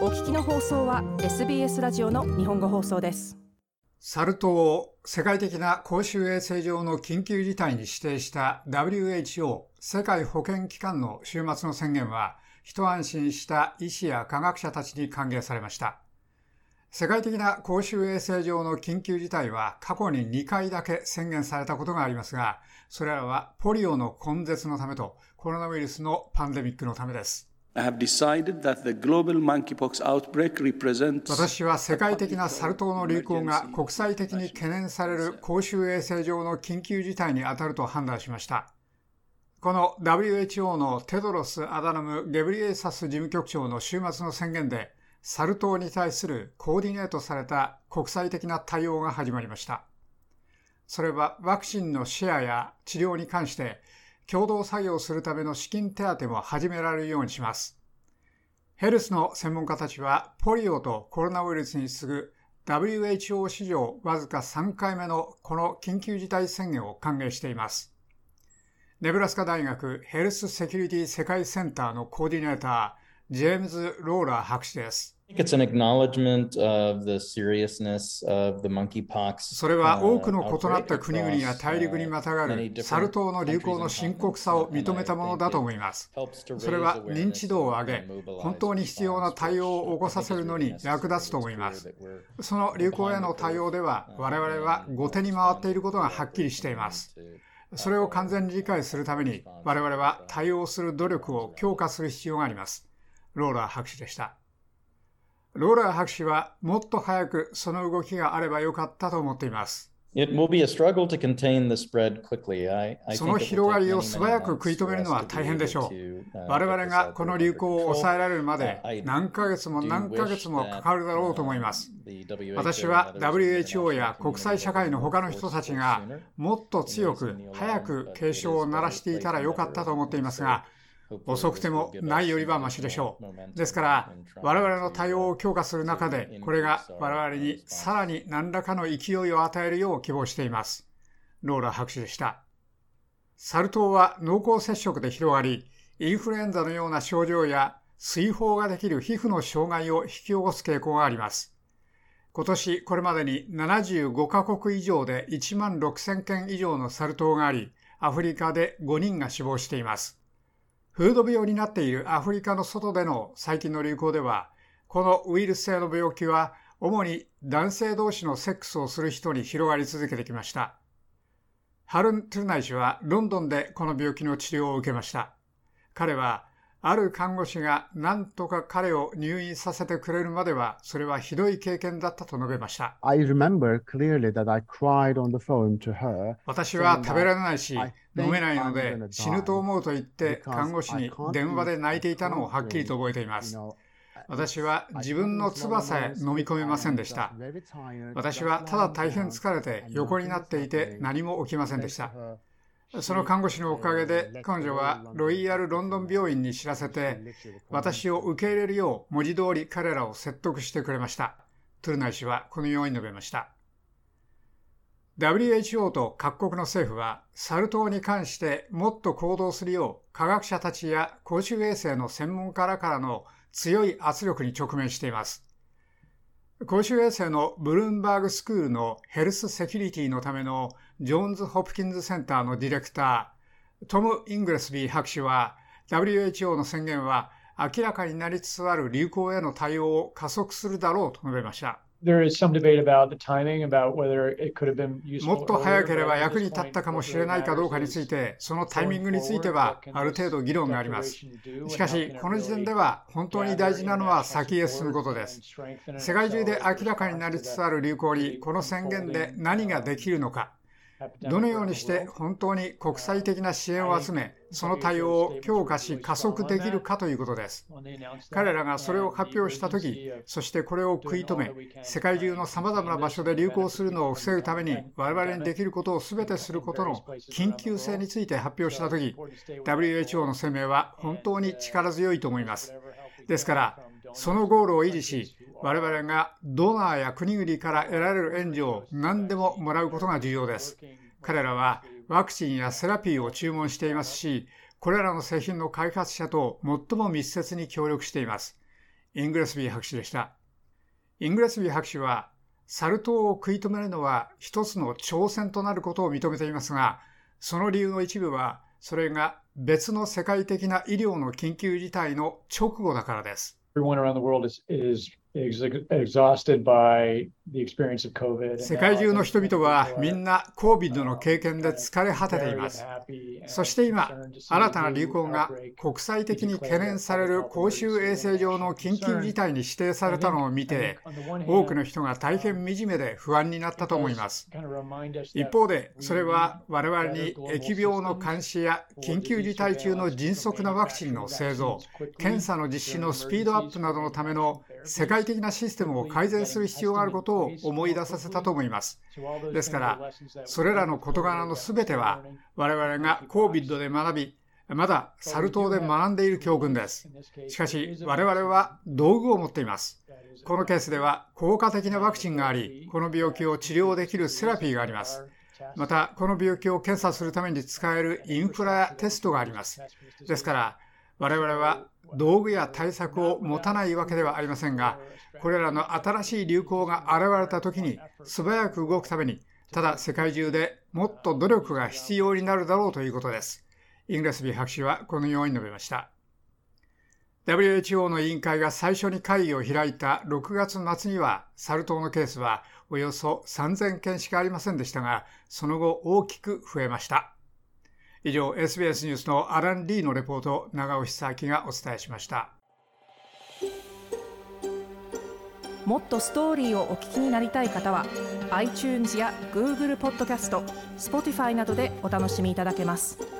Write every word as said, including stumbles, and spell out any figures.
お聞きの放送は エスビーエス ラジオの日本語放送です。 サル痘を世界的な公衆衛生上の緊急事態に指定した ダブリューエイチオー 世界保健機関の週末の宣言は、一安心した医師や科学者たちに歓迎されました。世界的な公衆衛生上の緊急事態は過去ににかいだけ宣言されたことがありますが、それらはポリオの根絶のためとコロナウイルスのパンデミックのためです。 I have decided that the global monkeypox outbreak represents 私は世界的なサル痘の流行が国際的に懸念される公衆衛生上の緊急事態に当たると判断しました。この ダブリューエイチオー のテドロス・アダノム・ゲブリエサス事務局長の週末の宣言で、サル痘に対するコーディネートされた国際的な対応が始まりました。それはワクチンのシェアや治療に関して共同作業するための資金手当も始められるようにします。ヘルスの専門家たちはポリオとコロナウイルスに次ぐ ダブリューエイチオー 史上わずかさんかいめのこの緊急事態宣言を歓迎しています。ネブラスカ大学ヘルスセキュリティ世界センターのコーディネーター、ジェームズ・ローラー博士です。 It's an acknowledgement of the seriousness of the monkeypox. それは多くの異なった国々や大陸にまたがるサル痘の流行の深刻さを認めたものだと思います。それは認知度を上げ、本当に必要な対応を起こさせるのに役立つと思います。その流行への対応では、我々は後手に回っていることがはっきりしています。それを完全に理解するために、我々は対応する努力を強化する必要があります。ローラー博士でした。ローラー博士はもっと早くその動きがあればよかったと思っています。 It will be a struggle to contain the spread quickly. I, I その広がりを素早く食い止めるのは大変でしょう。我々がこの流行を抑えられるまで何ヶ月も何ヶ月もかかるだろうと思います。私は ダブリューエイチオー や国際社会の他の人たちがもっと強く早く警鐘を鳴らしていたらよかったと思っていますが、遅くてもないよりはマシでしょう。ですから我々の対応を強化する中で、これが我々にさらに何らかの勢いを与えるよう希望しています。ローラ博士でした。サル痘は濃厚接触で広がり、インフルエンザのような症状や水疱ができる皮膚の障害を引き起こす傾向があります。今年これまでにななじゅうごカ国以上でいちまんろくせんけん以上のサル痘があり、アフリカでごにんが死亡しています。風土病になっているアフリカの外での最近の流行では、このウイルス性の病気は主に男性同士のセックスをする人に広がり続けてきました。ハルン・トゥルナイ氏はロンドンでこの病気の治療を受けました。彼はある看護師が何とか彼を入院させてくれるまでは、それはひどい経験だったと述べました。 I remember clearly that I cried on the phone to her. 私は食べられないし飲めないので死ぬと思うと言って看護師に電話で泣いていたのをはっきりと覚えています。私は自分の唾さえ飲み込めませんでした。私はただ大変疲れて横になっていて何も起きませんでした。その看護師のおかげで彼女はロイヤルロンドン病院に知らせて、私を受け入れるよう文字通り彼らを説得してくれました。トゥルナイ氏はこのように述べました。ダブリューエイチオー と各国の政府はサル痘に関してもっと行動するよう科学者たちや公衆衛生の専門家らからの強い圧力に直面しています。公衆衛生のブルームバーグスクールのヘルスセキュリティのためのジョーンズ・ホプキンズセンターのディレクター、トム・イングレスビー博士は ダブリューエイチオー の宣言は明らかになりつつある流行への対応を加速するだろうと述べました。もっと早ければ役に立ったかもしれないかどうかについて、そのタイミングについてはある程度議論があります。しかし、この時点では本当に大事なのは先へ進むことです。世界中で明らかになりつつある流行にこの宣言で何ができるのか、どのようにして本当に国際的な支援を集め、その対応を強化し加速できるかということです。彼らがそれを発表したとき、そしてこれを食い止め、世界中のさまざまな場所で流行するのを防ぐために我々にできることをすべてすることの緊急性について発表したとき、ダブリューエイチオー の声明は本当に力強いと思います。ですから、そのゴールを維持し、我々がドナーや国々から得られる援助を何でももらうことが重要です。彼らはワクチンやセラピーを注文していますし、これらの製品の開発者と最も密接に協力しています。 イングレスビー博士でした。イングレスビー博士は、サル痘を食い止めるのは一つの挑戦となることを認めていますが、その理由の一部は、それが別の世界的な医療の緊急事態の直後だからです。 Everyone around the world is, is exhausted by the experience of COVID. 世界中の人々はみんな コービッド の経験で疲れ果てています。そして今、新たな流行が国際的に懸念される公衆衛生上の緊急事態に指定されたのを見て、多くの人が大変惨めで不安になったと思います。一方で、それは我々に疫病の監視や緊急事態中の迅速なワクチンの製造、検査の実施のスピードアップなどのための世界的なシステムを改善する必要があることを思い出させたと思います。ですから、それらの事柄のすべては我々が コービッド で学び、まだサル痘で学んでいる教訓です。しかし、我々は道具を持っています。このケースでは効果的なワクチンがあり、この病気を治療できるセラピーがあります。また、この病気を検査するために使えるインフラやテストがあります。ですから、我々は道具や対策を持たないわけではありませんが、これらの新しい流行が現れたときに素早く動くために、ただ世界中でもっと努力が必要になるだろうということです。イングレスビー博士はこのように述べました。ダブリューエイチオー の委員会が最初に会議を開いたろくがつ末には、サル痘のケースはおよそさんぜんけんしかありませんでしたが、その後大きく増えました。以上、エスビーエス ニュースのアラン・リーのレポートを長尾久明がお伝えしました。 もっとストーリーをお聞きになりたい方は iTunes や Google ポッドキャスト、Spotify などでお楽しみいただけます。